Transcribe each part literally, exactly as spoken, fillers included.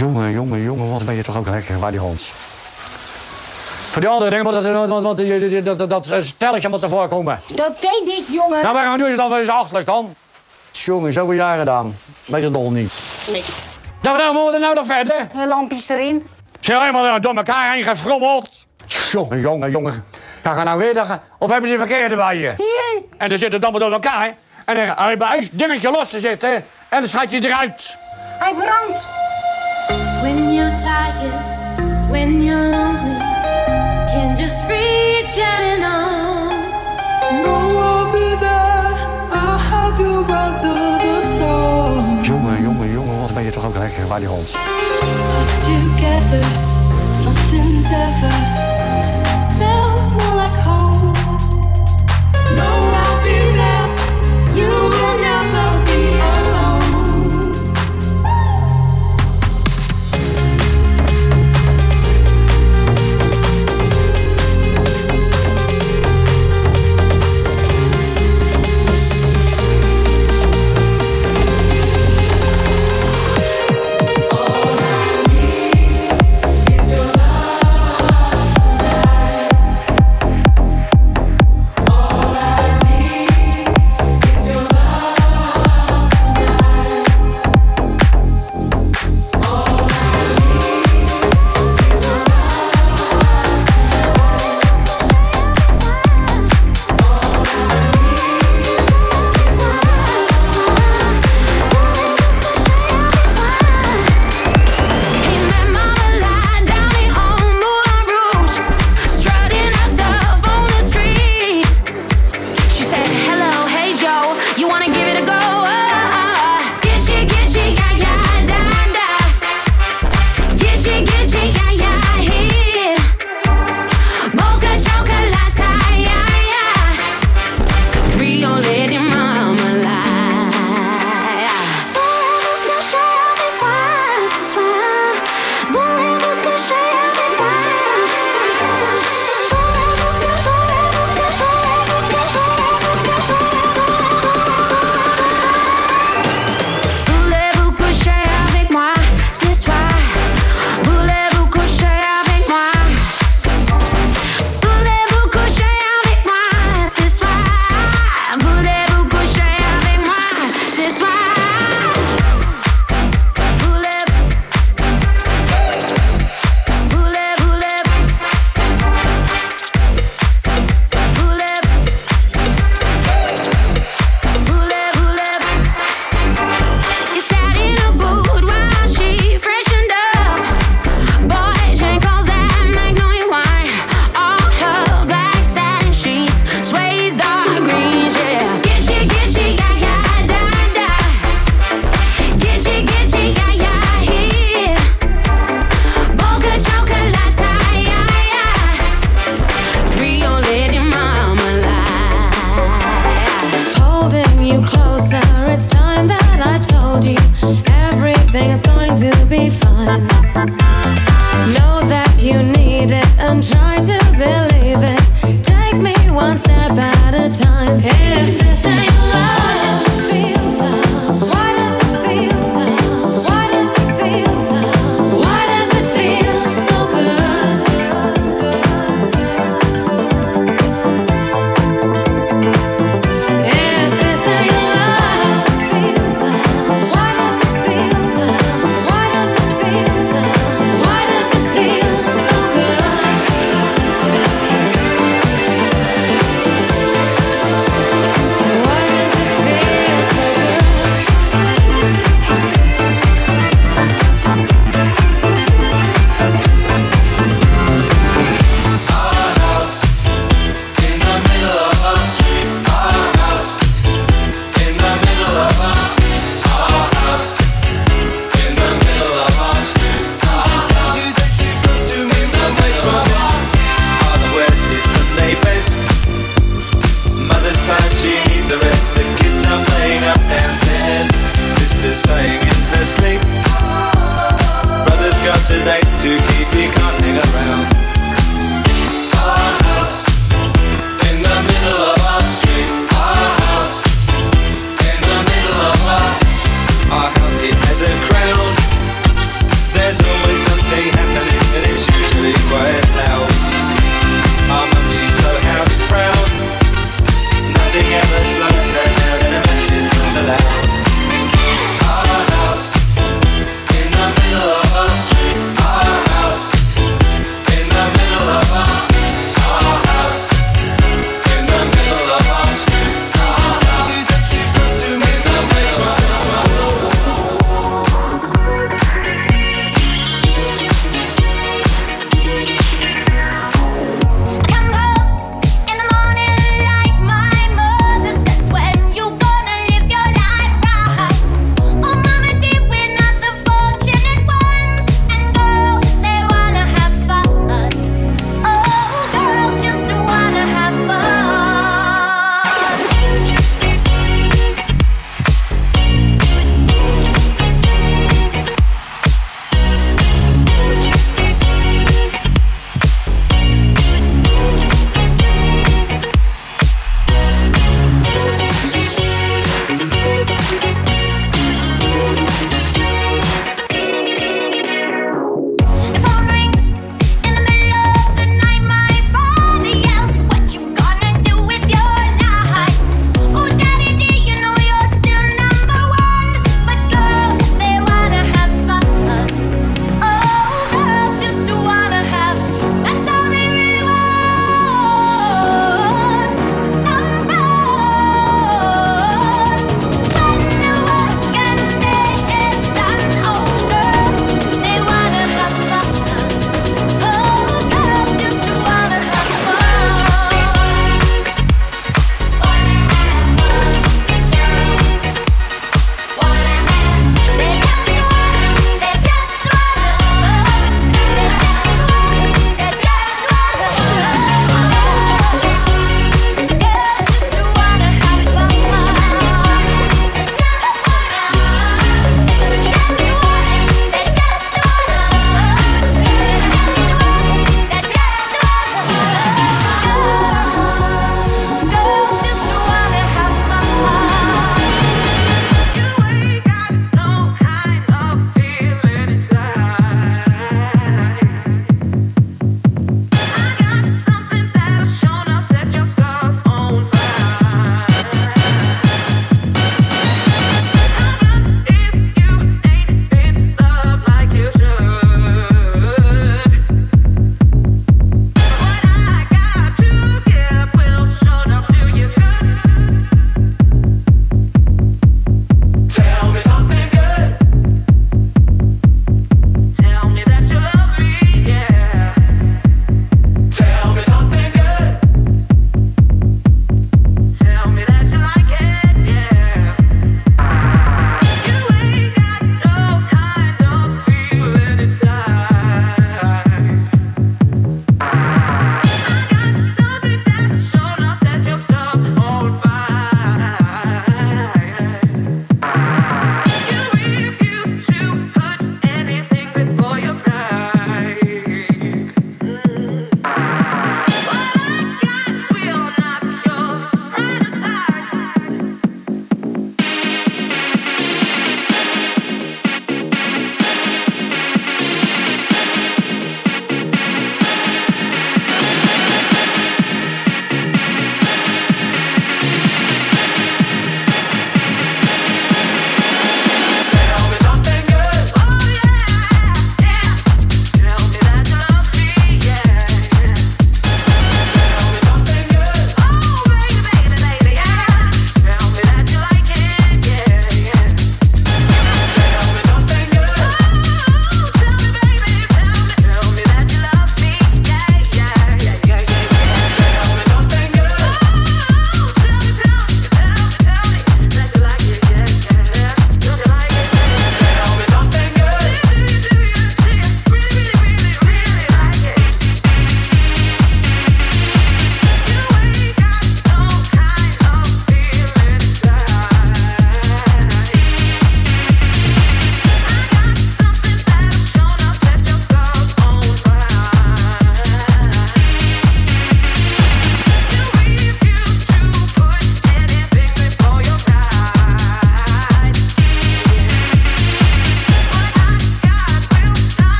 Jongen, jongen, jongen, wat ben je toch ook lekker bij die hond. Voor die andere dingen moet dat, dat, dat, dat, dat, dat stelletje moet ervoor komen. Dat weet ik, jongen. Nou, waarom doen ze dat wel eens achterlijk dan? Jongen, zoveel jaren gedaan. Weet je dol niet. Nee. Nou, nou, moeten we nou nog verder? Lampjes erin. Ze zijn helemaal door elkaar heen gefrommeld. Jongen, jongen, jongen. Ja, ga nou weer dagen. Of hebben ze die verkeerde bij je? Hier. En dan zit het allemaal door elkaar. En dan heb je een dingetje los te zitten. En dan schrijf je eruit. Hij brandt. When you're tired, when you're lonely, can just reach out and on. No, I'll be there. I'll help you weather the storm. Jongen, jongen, jongen, wat ben je toch ook lekker bij die hond. Us together, nothing's ever felt more like home. No, I'll be there. You will never be alone.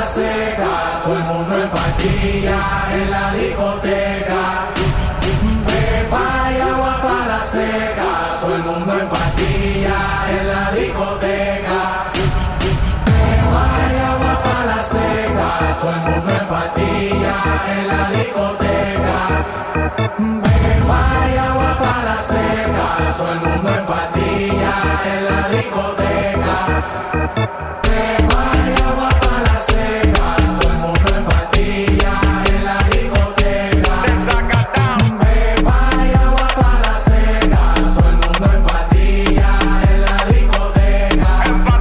seca, todo el mundo en pastilla en la discoteca. Pepa y agua para la seca, todo el mundo en pastilla en la discoteca. Pepa y agua para la seca, todo el mundo en pastilla en la discoteca. Pepa y agua para la seca, todo el mundo en pastilla en la discoteca. Pepa y agua para la seca, todo el mundo en pastilla en la discoteca. Pepa y agua para la seca, todo el mundo en pastilla en la discoteca.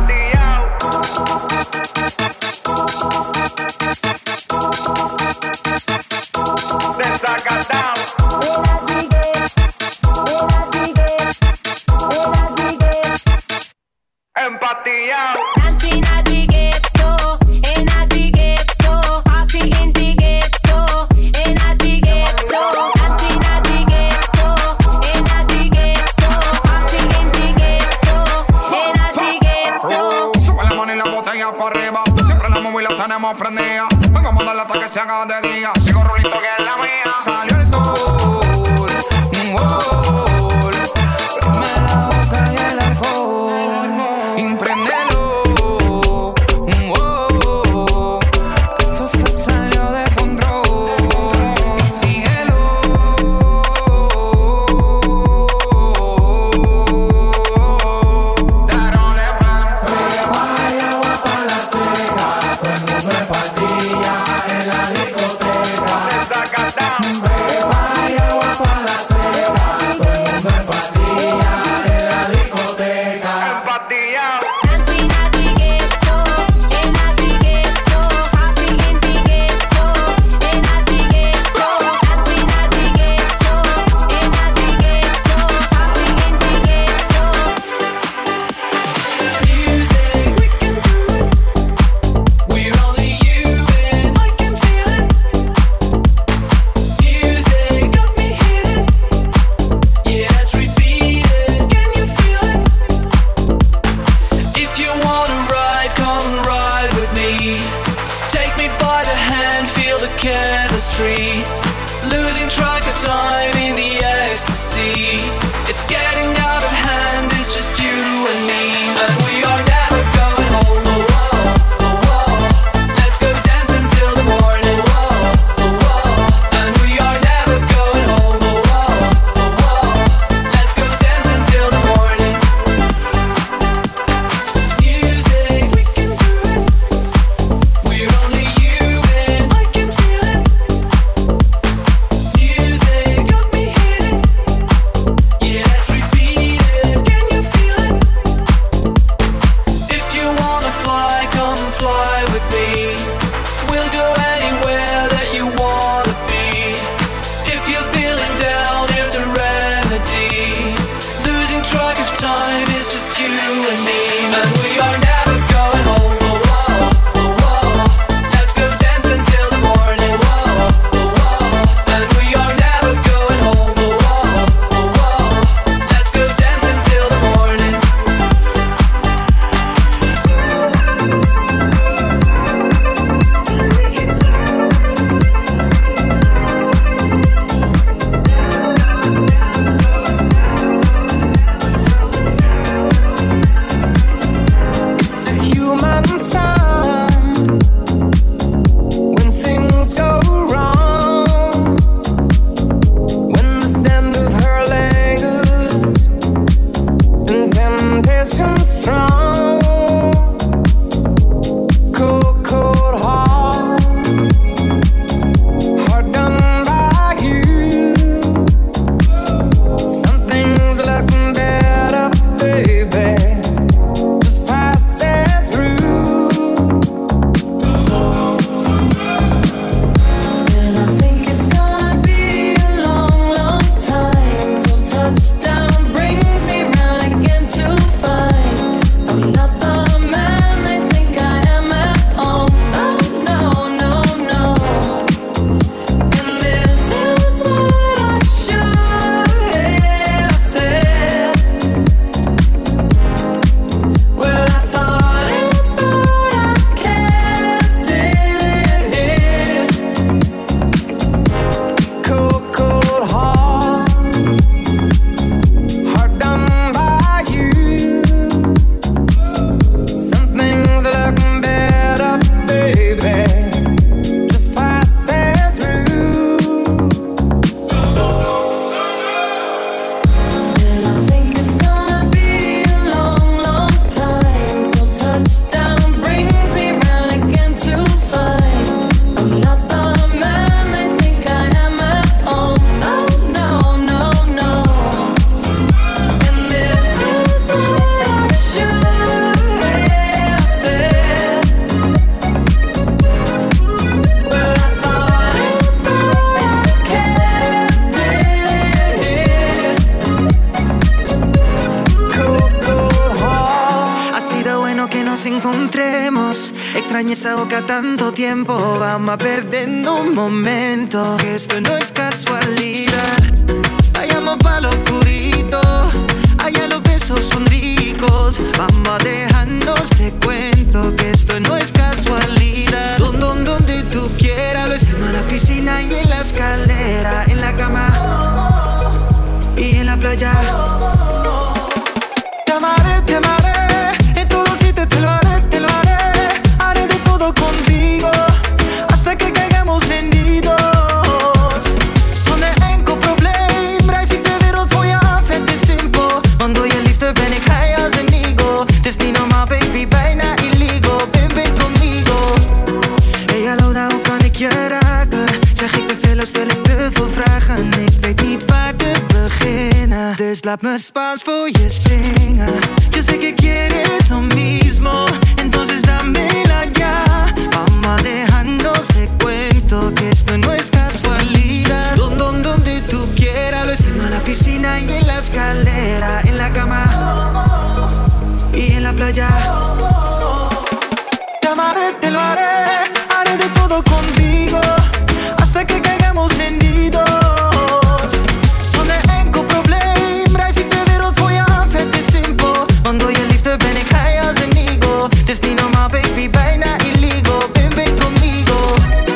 Dancing at the ghetto, in at the ghetto, happy in the ghetto, in at the ghetto. Dancing at the ghetto, in at the ghetto, happy in the ghetto, in at the ghetto. Sube la mano y la botella para arriba, siempre la móvil la tenemos prendida. Vamos a darle hasta que se haga de día. Sigo rulito que es la mía. Salió el sol, un gol. Prende la boca y el alcohol. Impréndelo, un gol. Esto se salió de control. Y síguelo. Darole pan. Pepa y agua para la seca, todo el mundo en pastilla en la discoteca. Pepa y agua para la seca, todo el mundo en pastilla en la discoteca. Dancing at the ghetto, in at the ghetto, happy in the ghetto, in at the ghetto. Dancing at the ghetto, in at the ghetto, happy in the ghetto. Music, we can do it. We're only human. I can feel it. Music got me hitting. Yeah, let's repeat it. Can you feel it? If you wanna ride, come ride with me. Take me by the hand, feel the chemistry. Losing track of time in the ecstasy. It's getting out of hand, it's just you and me. And we are never going home. Oh, oh, oh, oh. Let's go dance until the morning. Oh, oh, oh. And we are never going home. Oh, oh, oh, oh. Let's go dance until the morning. Music, we can do it. We're only human. I can feel it. Music got me hitting. extrañé esa boca tanto tiempo. Vamos a perder un momento, que esto no es casualidad. Vayamos pa' lo oscurito, allá los besos son ricos. Vamos a dejarnos, te cuento que esto no es casualidad. Don, don, donde tú quieras, lo hicimos en la piscina y en la escalera, en la cama y en la playa. Te amaré, te amaré, en todo sitio te lo haré, te lo haré. Haré de todo contigo, hasta que caigamos rendidos. Zonder enkel probleem, reis ik de wereld voor je af, het is simpel. Want door je liefde ben ik high als een eagle. Het is niet normaal baby, bijna illegal, ven, ven conmigo. Hey hallo, nou hoe kan ik je raken? Zeg ik te veel of stel ik te veel vragen? Ik weet niet waar te beginnen, dus laat me Spaans voor je zingen. Yo sé que quieres lo mismo, entonces dámela ya. Vamos a dejarnos, te cuento que esto no es casualidad. Don, don, donde tú quieras, lo hicimos en la piscina y en la escalera, en la cama y en la playa. Te amaré, te lo haré, haré de todo contigo, hasta que caigamos rendidos. Zonder enkel probleem, reis ik de wereld voor je af, het is simpel. Want door je liefde ben ik high als een eagle. Het is niet normaal baby, bijna illegal, ven, ven conmigo.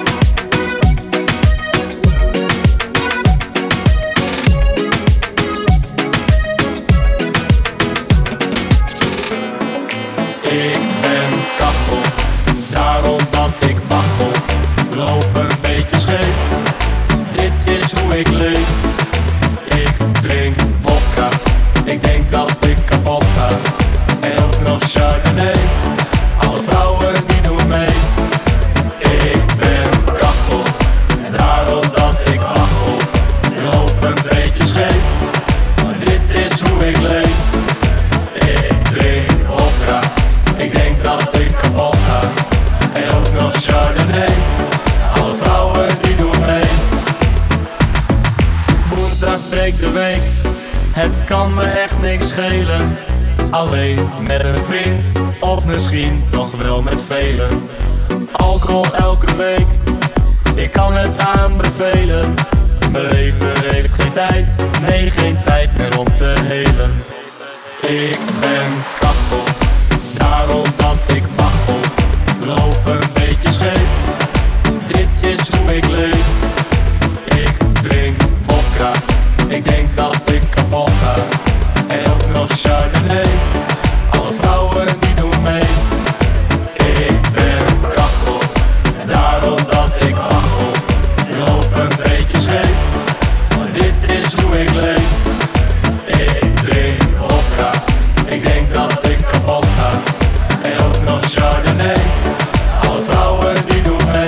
Ik ben kachel, daarom dat ik waggel. Loop een beetje scheef, dit is hoe ik leef. Ik drink vodka, ik denk dat ik kapot ga. En ook nog Chardonnay, alle vrouwen die doen mee. Ik ben kachel, daarom dat ik waggel. Loop een beetje scheef, dit is hoe ik leef. Ik drink vodka, ik denk dat ik kapot ga. En ook nog Chardonnay, alle vrouwen die doen mee. Woensdag breekt de week, het kan me echt niks schelen. Alleen met een vriend, of misschien toch wel met velen. Alcohol elke week, ik kan het aanbevelen. Mijn leven heeft geen tijd, nee geen tijd meer om te helen. Ik ben kachel, daarom dat ik waggel. Loop een beetje scheef, dit is hoe ik leef. Ik drink vodka, ik denk dat ik kapot ga. En ook nog Chardonnay, alle vrouwen die doen mee. Ik ben kachel, daarom dat ik waggel. Loop een beetje scheef, dit is hoe ik leef. Ik drink vodka, ik denk dat ik kapot ga. En ook nog Chardonnay, alle vrouwen die doen mee.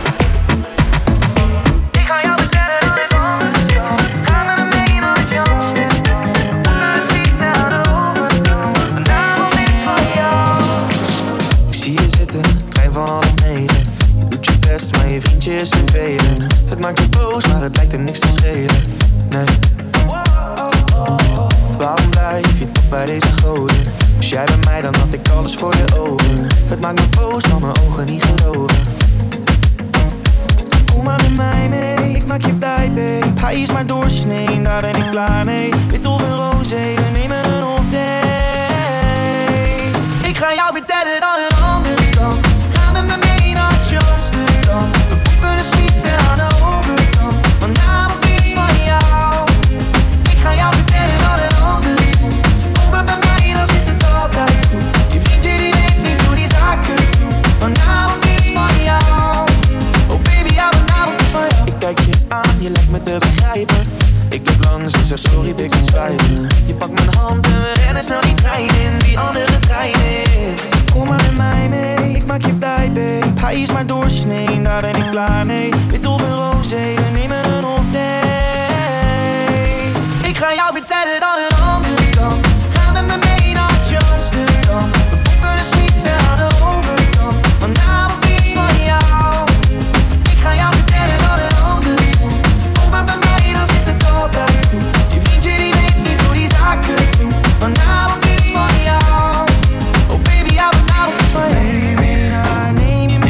Ik ga jou vertellen dat ik anders kan. Ga met me mee naar het jongste. Onder de fiets naar de overkant. En daarom is het van jou. Ik zie je zitten, trein van half negen. Je doet je best, maar je vriendje is vervelend. Het maakt je boos, maar het lijkt er niks te schelen. Nee. Waarom blijf je toch bij deze goden? Was jij bij mij, dan had ik alles voor je ogen. Het maakt me boos, maar mijn ogen niet geloven. Kom maar met mij mee, ik maak je blij, babe. Hij is maar doorsnee, daar ben ik klaar mee. Wit of een roze, we nemen een off day. Ik ga jou vertellen dat het anders kan. Ga met me mee naar Amsterdam. We boeken een suite aan de overkant. Vanavond is van jou. Ik ga jou vertellen dat het anders moet. Kom maar bij mij, dan zit het altijd goed. Je vriendje die weet niet hoe die zaken doet. Vanavond is van jou. Oh baby, ja, vanavond is van jou. Ik kijk je aan, je lijkt me te begrijpen. Ik loop langs en zeg sorry, big, het spijt me. Je pakt mijn hand en we rennen snel die trein in. Die andere trein in. Kom maar met mij mee, ik maak je blij, babe. Hij is maar doorsnee, daar ben ik klaar mee. Wit of een roze, we nemen een off day. Ik ga jou vertellen dat het anders kan. Ga met me mee naar Amsterdam. We boeken een suite aan de overkant. Vanavond is van jou. Ik ga jou vertellen dat het anders moet. Kom maar bij mij, dan zit het altijd goed. Je vriendje die weet niet hoe die zaken doet. Vanavond is van jou. Oh baby, ja, vanavond is van jou. Neem je mee naar, neem je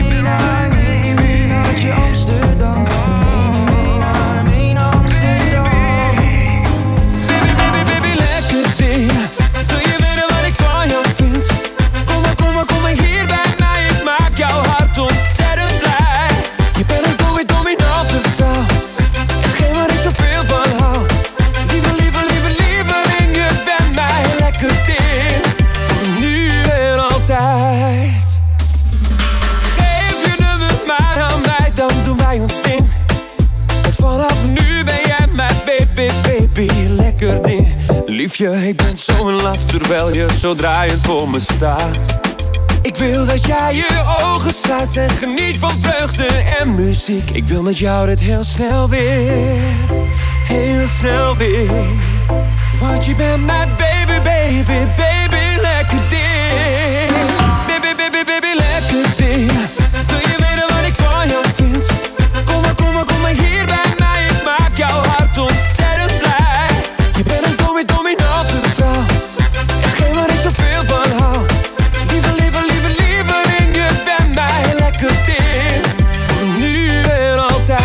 Liefje, ik ben zo in love terwijl je zo draaiend voor me staat. Ik wil dat jij je ogen sluit en geniet van vreugde en muziek. Ik wil met jou dit heel snel weer, heel snel weer. Want je bent mijn baby, baby, baby, lekker ding. Baby, baby, baby, lekker ding. Wil je weten wat ik van jou vind? Kom maar, kom maar, kom maar hier bij mij. Ik maak jouw hart ontzettend blij. Je bent een domme, dominante vrouw. Hetgeen waar ik zoveel van hou. Liever, liever, liever, liever in je bent mij lekker ding. Voor nu en altijd.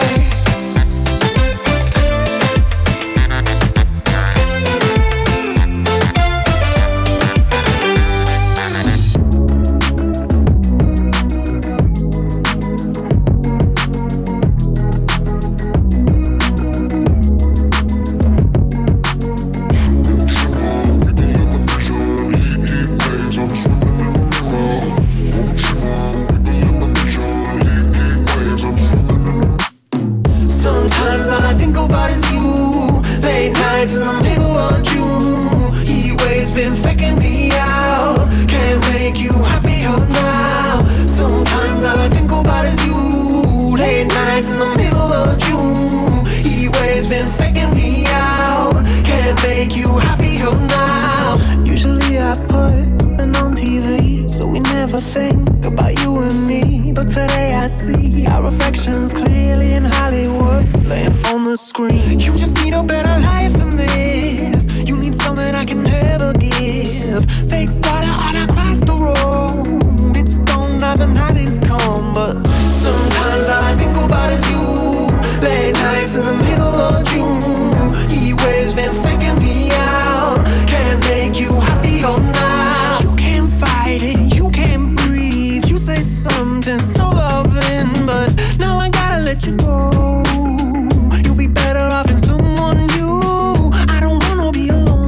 Sometimes all I think about is you. Late nights in the middle of June. He waves been faking me out. Can't make you happier now. Sometimes all I think about is you. Late nights in the middle of June. He waves been faking me out. Can't make you happier now. Usually I put something on T V, so we never think about you and me. But today I see our reflections clearly in Hollywood, laying on the screen. You just need a better life than this. You need something I can never give. Fake water all across the road. It's gone now, the night is come. But sometimes all I think about is you. Late nights in the middle of June. He waves been faking me out. Can't make you happier now. You can't fight it, you can't breathe. You say something so loving, but now I gotta let you go. You'll be better off in someone new. I don't wanna be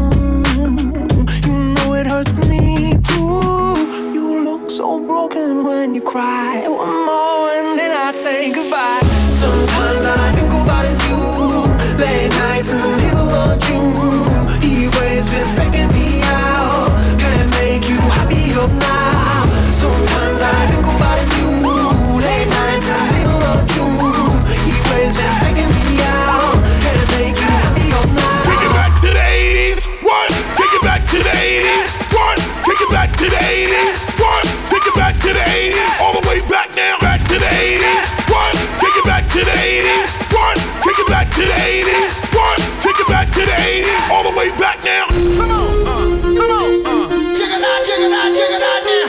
alone. You know it hurts me too. You look so broken when you cry. One more and then I say goodbye. Sometimes all I think about is you. Late nights in the middle of June. He waves been faking me out. Can't make you happier now. Sometimes all I think about is you. Late nights in the middle of June. He waves been faking me out. Can't make you happier now. Take it back to the eighties. One. Take it back to the eighties. One. Take it back to the eighties. One. Take it back to the eighties. All the way back now. Back to the eighties. One. Take it back to the eighties. One. Take it back to the eighties. One. Take it back to the eighties. All the way back now. Come on, uh, come on, uh. Check it out, check it out, check it out now.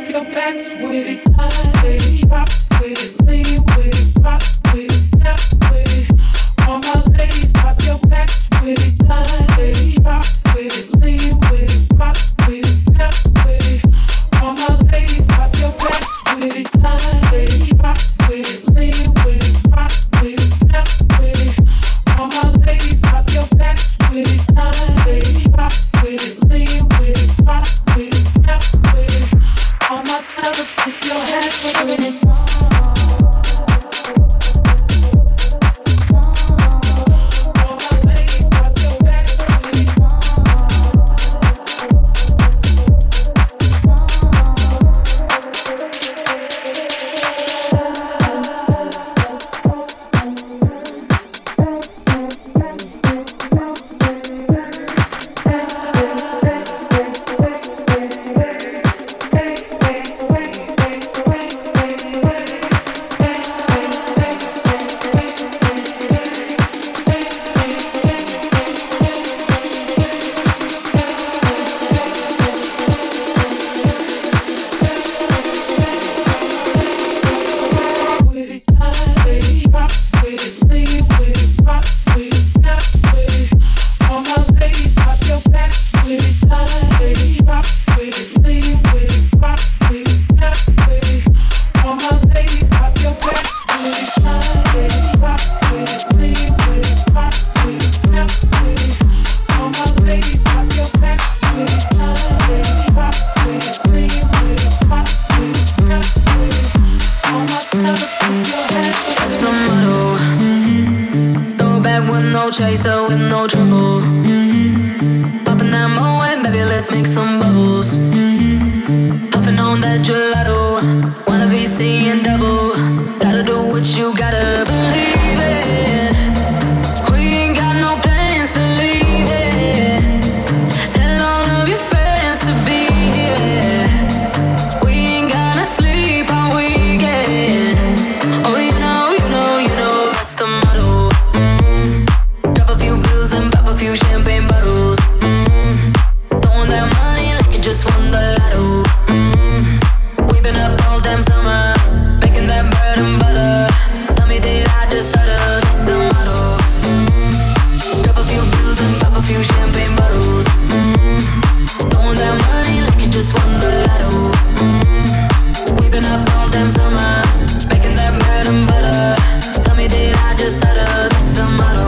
drop your backs with it, hey, drop with it, lean with it, rock with it, snap with it. All my ladies, pop your backs with it, hey, drop with it, lean with it, rock with it, snap with it. All my ladies, pop your backs with it, hey, drop with it, lean with it, rock with it, snap with it. All my ladies, pop your backs with it, hey, drop with it, lean with it, rock with it, snap with it. All my fellas, keep your hands with it. Chaser with no trouble. Mm-hmm. Popping that Moet, baby, let's make some bubbles. Mm-hmm. Puffing on that gelato. Wanna be seeing double. Gotta do what you gotta believe it. We ain't got no plans to leave it. Tell all of your friends to be here. We ain't gonna sleep all weekend. Oh, you know, you know, you know, that's the motto. Few champagne bottles, mm-hmm. Throwing that money like you just won the lotto, mm-hmm. We've been up all damn summer, making that bread and butter. Tell me, did I just stutter? That's the motto, mm-hmm. Drop a few bills and pop a few champagne bottles, mm-hmm. Throwing that money like you just won the lotto, mm-hmm. We've been up all damn summer, making that bread and butter. Tell me, did I just stutter? That's the motto.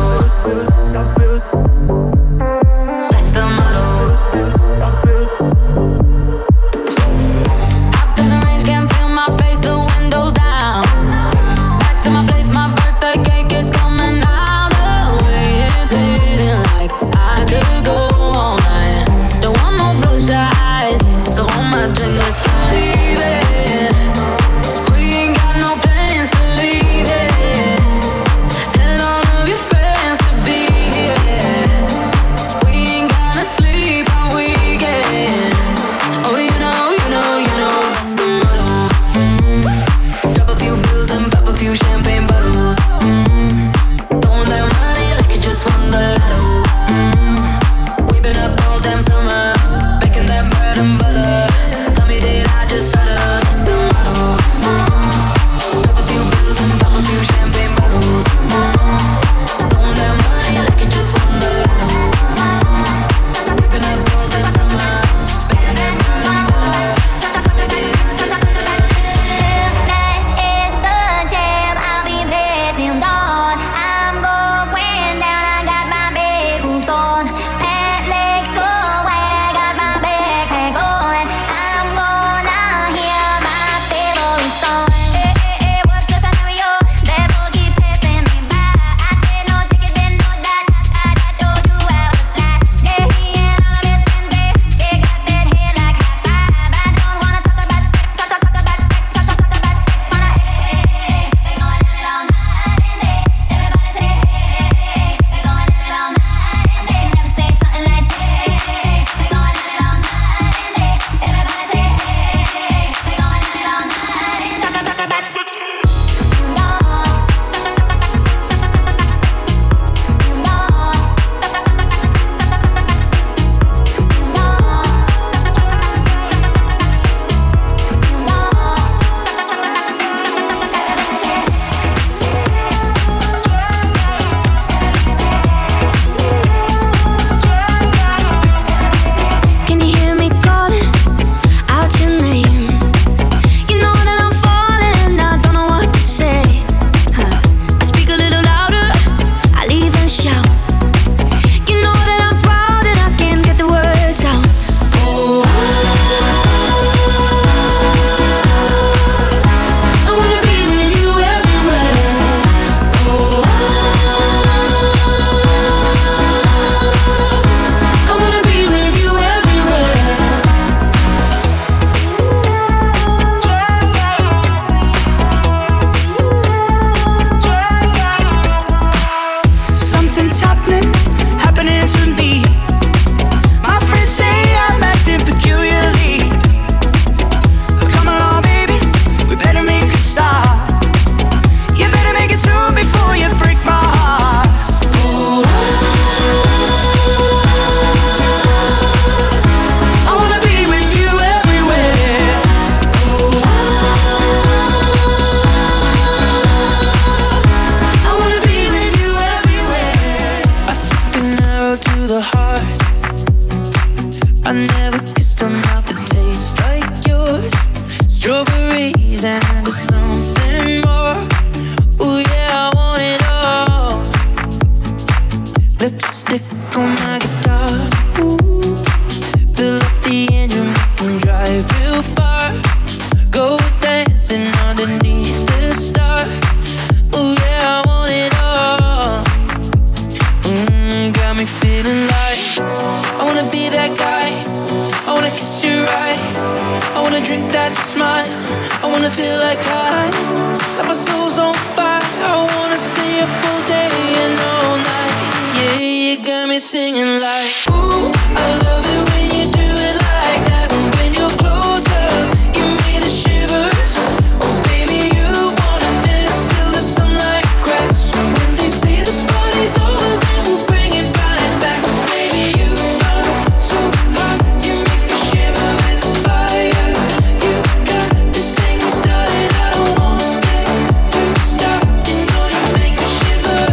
wanna feel like I, like my soul's on fire. I wanna stay up all day and all night. Yeah, you got me singing like, ooh, I love it when you do it like that. When you're closer, give me the shivers. Oh baby, you wanna dance till the sunlight cracks. When they say the party's over, then we'll bring it right back. Baby, you burn so hot, you make me shiver with fire. You got this thing we started, I don't want it to stop. You know you make me shiver.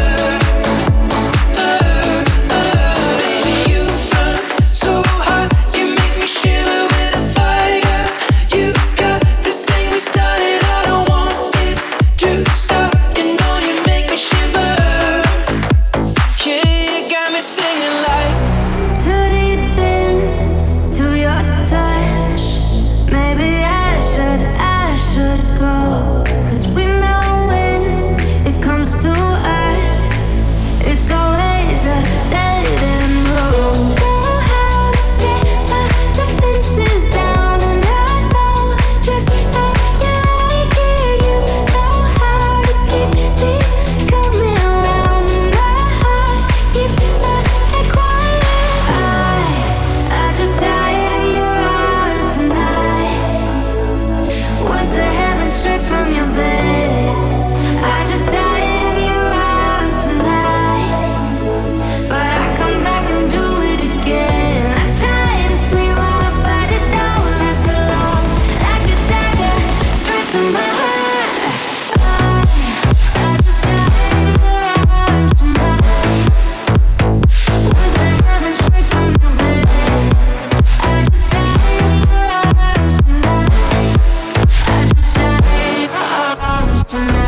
Uh, uh, baby, you burn so hot, you make me shiver with fire. You got this thing we started, I don't want it to stop. You know you make me shiver. Yeah, you got me singing like, Too deep into your touch. Maybe I should, I should go. 'Cause we know when it comes to us, it's always a dead end road. Know how to take my defenses down, and I know just how you like it. You know how to keep me coming round, and my heart keeps not that quiet. I, I just died in your arms tonight. Went to heaven straight from your bed. I just died in your arms tonight. But I come back and do it again. I try to sleep off, but it don't last so long. Like a dagger, straight to my heart. I, I just died in your arms tonight. Went to heaven straight from your bed. I just died in your arms tonight. I just died in your arms tonight.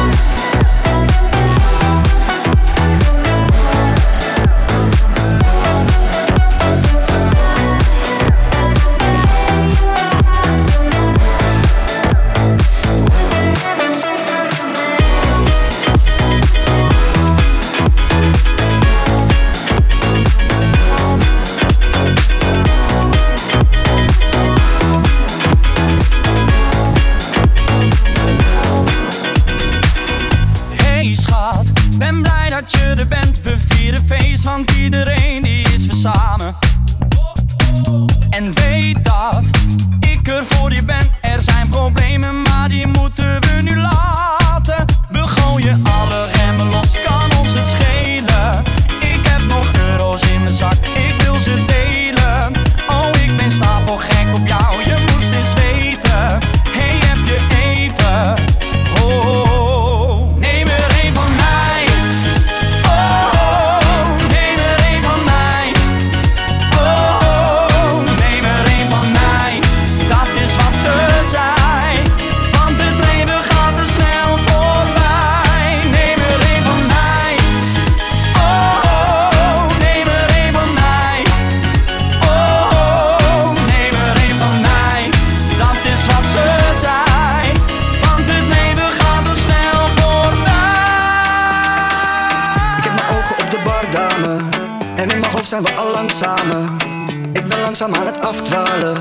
Hey schat, ben blij dat je er bent. We vieren feest, want iedereen die is weer samen. En weet dat ik er voor je ben. Er zijn problemen, maar die moeten we nu laten. We gooien alle remmen los, kan ons het schelen. Ik heb nog euro's in mijn zak, ik wil ze delen. Oh, ik ben stapelgek op jou, je moest eens weten. Hey, heb je even... Oh, neem er een van mij. Oh, neem er een van mij. Oh, neem er een van mij. Dat is wat ze zei. Want het leven gaat te snel voorbij. Neem er een van mij. Oh, neem er een van mij. Oh, neem er een van mij. Dat is wat ze zei. Want het leven gaat te snel voorbij. Ik heb mijn ogen op de bar, dame. En in mijn hoofd zijn we al lang samen. Ik ben langzaam aan het afdwalen.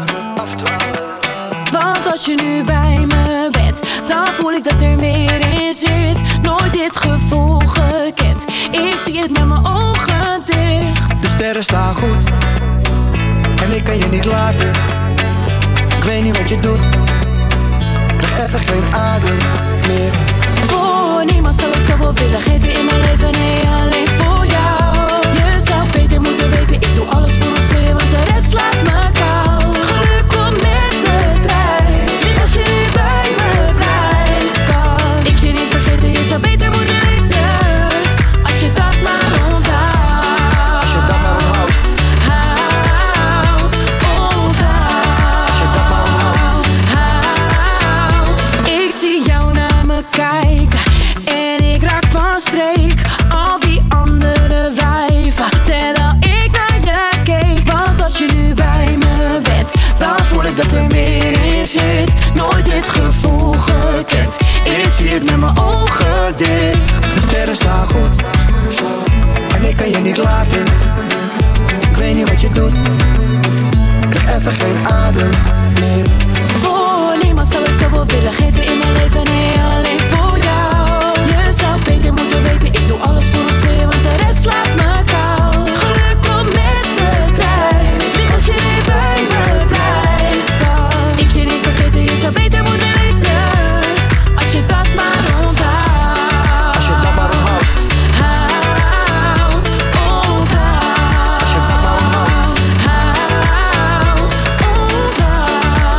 Want als je nu bij me bent, dan voel ik dat er meer in zit. Nooit dit gevoel gekend, ik zie het met mijn ogen dicht. De sterren staan goed en ik kan je niet laten. Ik weet niet wat je doet, ik krijg even geen adem meer. Voor niemand zou ik zoveel willen geven in mijn leven, nee, alleen voor jou. Je zou beter moeten weten, ik doe alles voor ons twee, want de rest laat me koud. Geluk komt met de trein, dus als je nu bij me blijft, kan ik je niet vergeten, je zou beter moeten weten. Als je dat maar onthoudt. Als je dat maar onthoudt. Houd, onthoudt. Als je dat maar onthoudt. Houd. Ik zie jou naar me kijken en ik raak van streek. Al die andere wijven, terwijl ik naar je keek. Want als je nu bij me bent, dan voel ik dat er meer in zit. Nooit dit gevoel gekend, ik zie het met mijn ogen dicht. De sterren staan goed en ik kan je niet laten. Ik weet niet wat je doet, ik krijg even geen adem meer. Voor niemand zou ik zoveel zoveel willen geven in mijn leven, nee, alleen voor jou. Je zou beter moeten weten, ik doe alles voor ons twee, want de rest laat me koud. Geluk komt met de tijd, lief als je niet bij me blijft dan. Ik je niet vergeten, je zou beter moeten weten, als je dat maar onthoudt. Als je dat maar onthoudt. Houd, onthoud. Als je dat maar onthoudt. Houd, onthoud.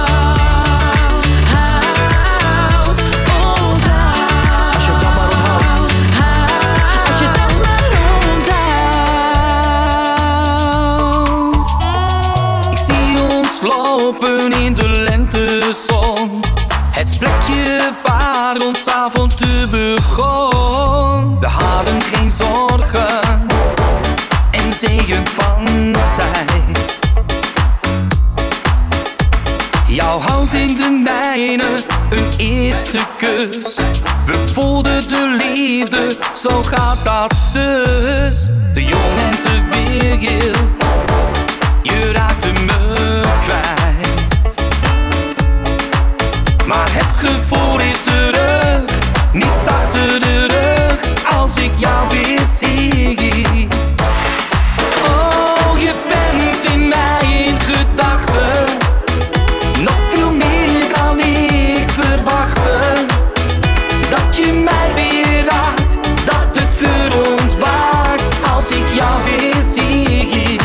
Houd, onthoud. Als je dat maar onthoudt. Als je dat maar onthoudt. Ik zie ons lopen in de lentezon. Het plekje waar ons avontuur begon. We hadden geen zorgen en zeeën van tijd. Jouw hand in de mijne, een eerste kus. We voelden de liefde, zo gaat dat dus. De jong en de wereld, je raakte me kwijt. Maar het gevoel is terug, niet achter de rug, als ik jou weer zie. Oh, je bent in mij in gedachten, nog veel meer dan ik verwachtte. Dat je mij weer raakt, dat het vuur ontwaakt, als ik jou weer zie.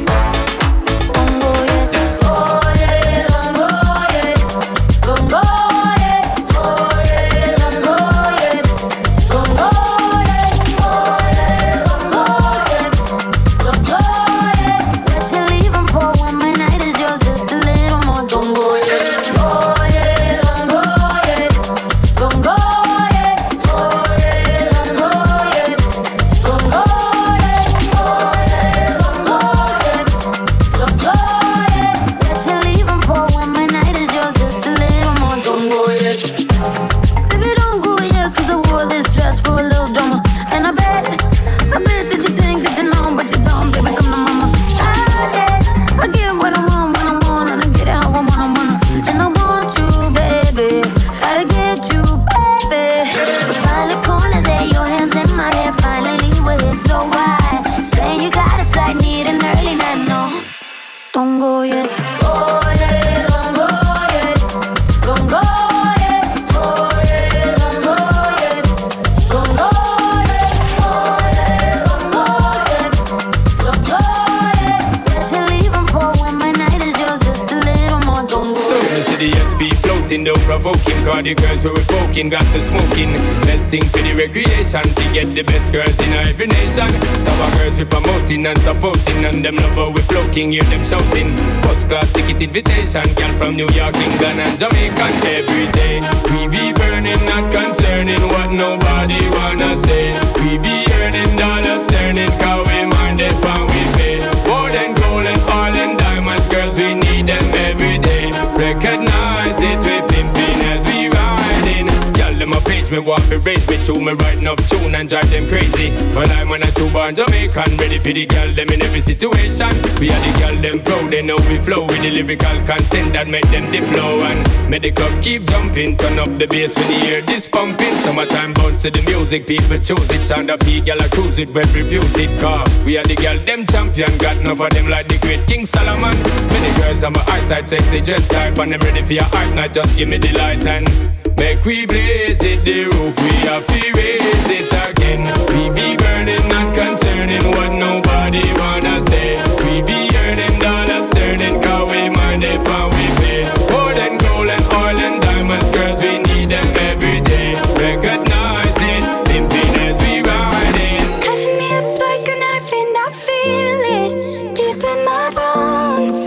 The girls who were poking got to smoking. Best thing for the recreation, to get the best girls in every nation. Our girls we promoting and supporting, and them love how we floating, hear them shouting. First class ticket invitation, girl from New York, England and Jamaica. Every day we be burning, not concerning what nobody wanna say. We be earning dollars, turning, cause we mind it and we pay. More than gold and oil and diamonds, girls we need them every day. Recognize it, we pimping as we riding. Y'all them a page me want to raise me to me writing up tune and drive them crazy. Well I'm when I two born Jamaican, ready for the girl them in every situation. We are the girl them proud, they know we flow with the lyrical content that make them the flow. And make the club keep jumping, turn up the bass when you hear this pumping. Summertime bounce to the music, people choose it. Sound up the girl I cruise it, well refuse it. Car we are the girl them champion, got enough of them like the great King Solomon. Many girls on my eyesight, sexy just type, and them ready for your art, not just give me the light and make we blaze it, the roof, we have to raise it again. We be burning, not concerning what nobody wanna say. We be earning dollars, turning, cause we mind it and we pay. More than gold and oil and diamonds, girls, we need them every day. Recognize it, pimping as we riding. Cutting me up like a knife and I feel it deep in my bones.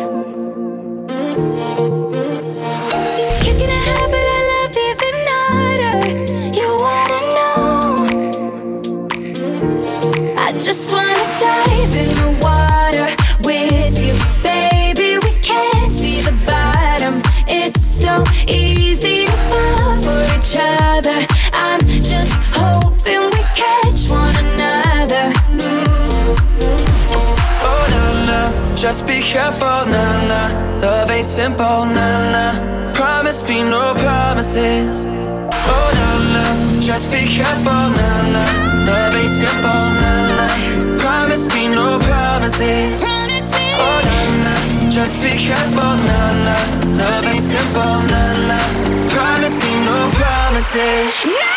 Kicking a habit I love even harder. You wanna know? I just wanna dive in the water with you, baby. We can't see the bottom. It's so easy to fall for each other. I'm just hoping we catch one another. Oh la la, just be careful, nah, nah. Love ain't simple, nah, nah. Promise me no promises. Oh, nah, nah. Just be careful, nah, nah. Love ain't simple, nah, nah. Promise me no promises. Oh, nah, nah. Just be careful, nah, nah. Love ain't simple, nah, nah. Promise me no promises.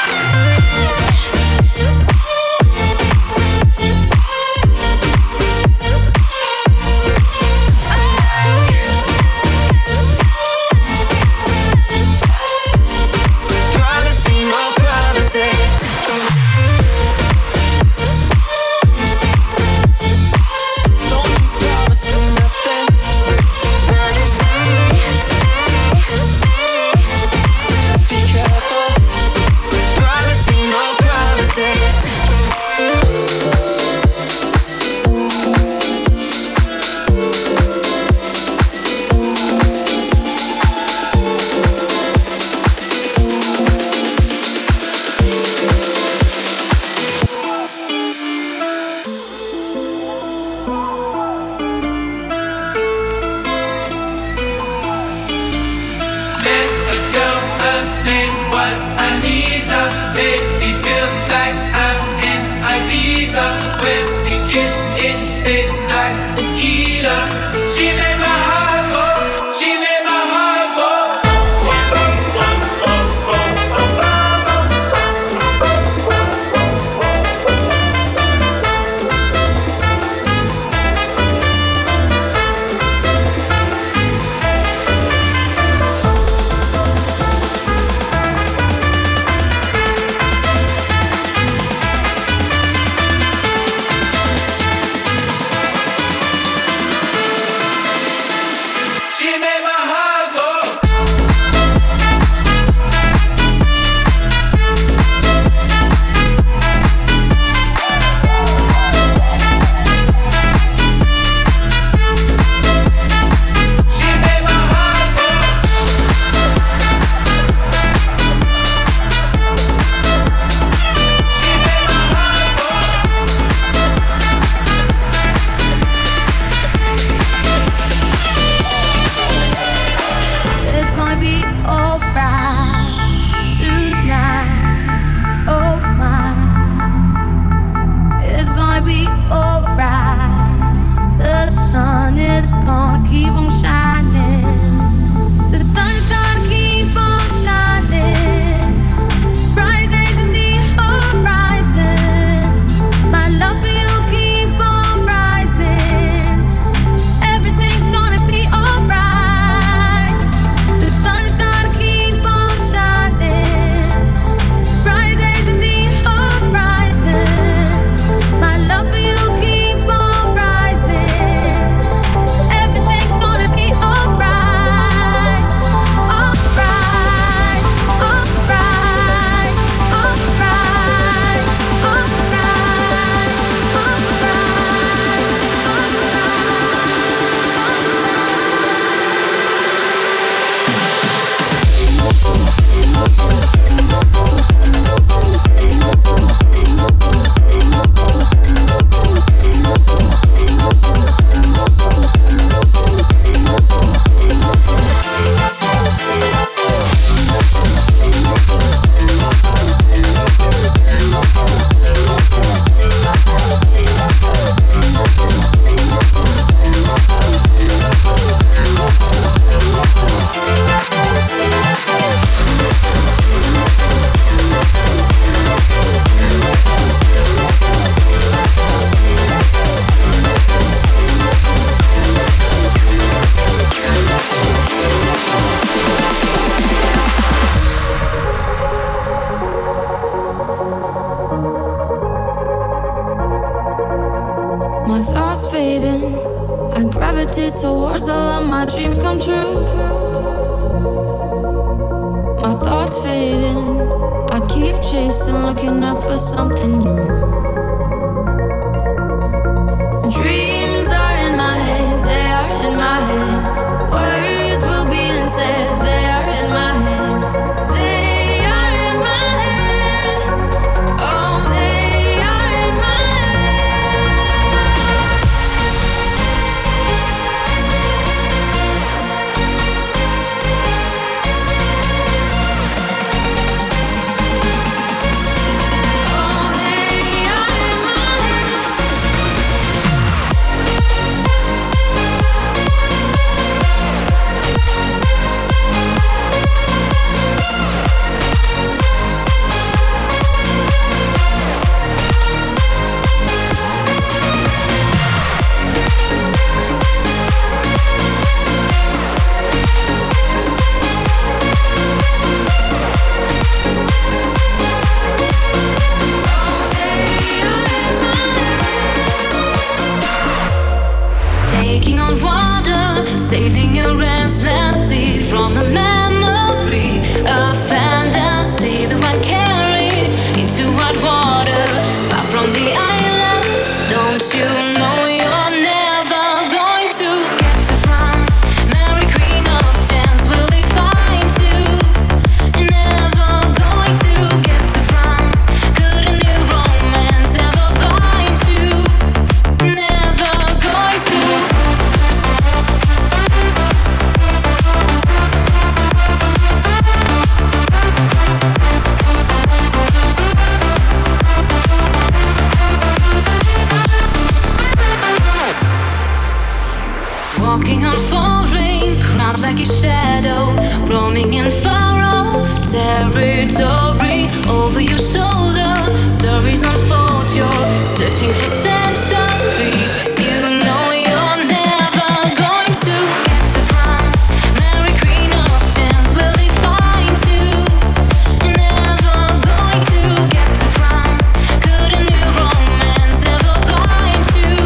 towards all of my dreams come true. My thoughts fading, I keep chasing, looking out for something new. Dreams are in my head, they are in my head. Words will be unsaid, they are in my head. They are in my head. Oh, they are in my head. like a shadow, roaming in far off territory. Over your shoulder, stories unfold. You're searching for sensory. You know you're never going to get to France. Mary Queen of Chance, will they find you? Never going to get to France. Could a new romance ever bind you?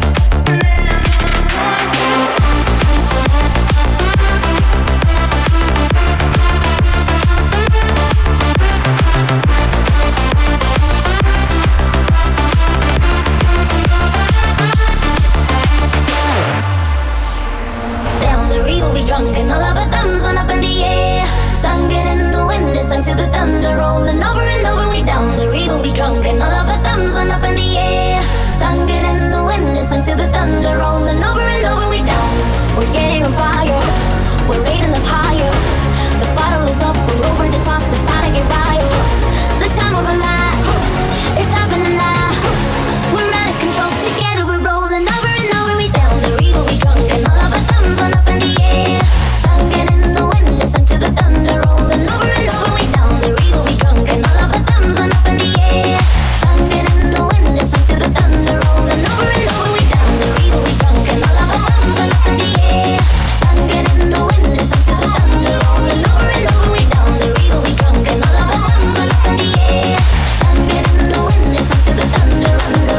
Down the river we drunk and all of our thumbs went up in the air. Sung it in the wind and sung to the thunder, rolling over and over. We down the river we drunk and all of our thumbs went up in the air. Sung it in the wind and sung to the thunder, rolling over and over. We down, we're getting on fire, we're raising up higher. The bottle is up, we're over the top, it's time to get wild. The time of a life, it's happening now. We're out of control, together we're rolling over and over. We down the river we drunk and all of our thumbs went up in the air. Sung it in the wind and sung to the thunder, rolling over and over. We down the river we drunk and all of our thumbs went up in the air. Sung it in the wind and sung to the thunder, rolling over and over. We down the river we drunk and all of our thumbs went up in the air. Sung it in the wind and sung to the thunder, rolling over and over. We down the river we drunk and all of our thumbs went up in the air. Sung it in the wind and sung to the thunder, under,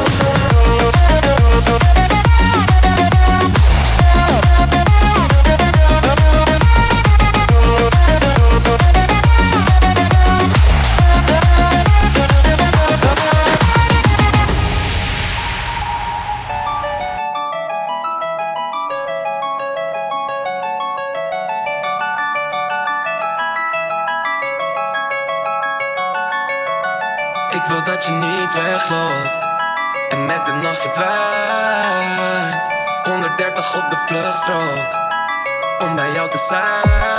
Ik wil dat je niet wegloopt en met de nacht verdwijnt. honderddertig op de vluchtstrook om bij jou te zijn.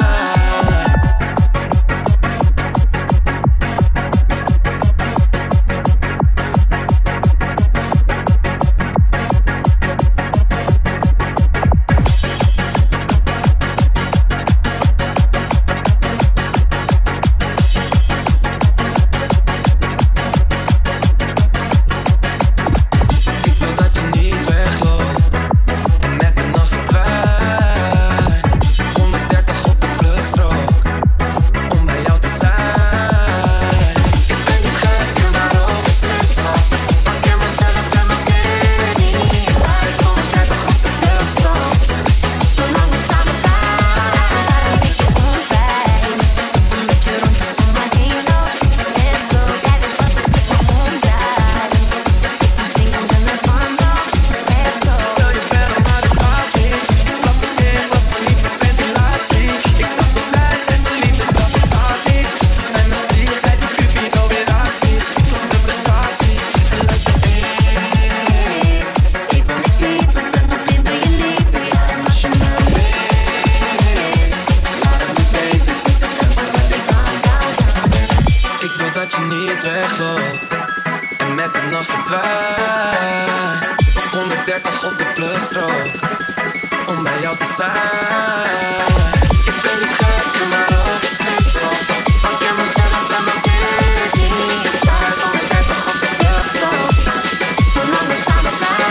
honderddertig op de vluchtstrook om bij jou te zijn. Ik ben niet gek, maar ook is vriendschap. Ik ken mezelf en mijn kinderen. Ik ga uit honderddertig op de vluchtstrook, zolang we samen zijn.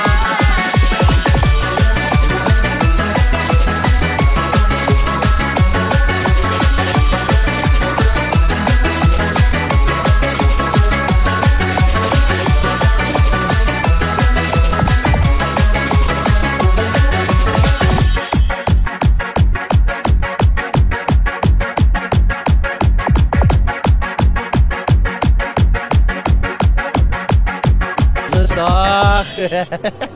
Rustig.